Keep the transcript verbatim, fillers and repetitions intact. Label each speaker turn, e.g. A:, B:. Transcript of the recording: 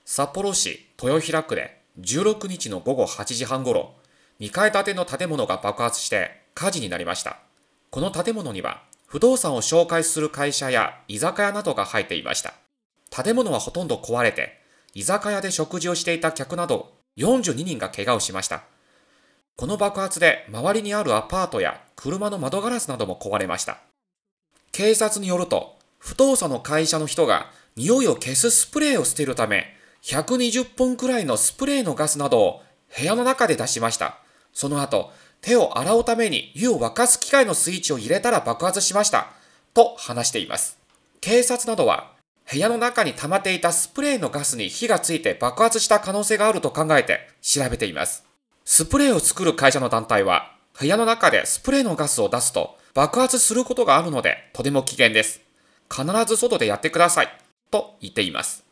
A: 札幌市豊平区でじゅうろくにちの午後はちじはんごろ、にかい建ての建物が爆発して火事になりました。この建物には不動産を紹介する会社や居酒屋などが入っていました。建物はほとんど壊れて、居酒屋で食事をしていた客などよんじゅうににんが怪我をしました。この爆発で周りにあるアパートや車の窓ガラスなども壊れました。警察によると、不動産の会社の人が匂いを消すスプレーを捨てるため、ひゃくにじゅっぽんくらいのスプレーのガスなどを部屋の中で出しました。その後、手を洗うために湯を沸かす機械のスイッチを入れたら爆発しました。と話しています。警察などは、部屋の中に溜まっていたスプレーのガスに火がついて爆発した可能性があると考えて調べています。スプレーを作る会社の団体は、部屋の中でスプレーのガスを出すと爆発することがあるのでとても危険です。必ず外でやってください。と言っています。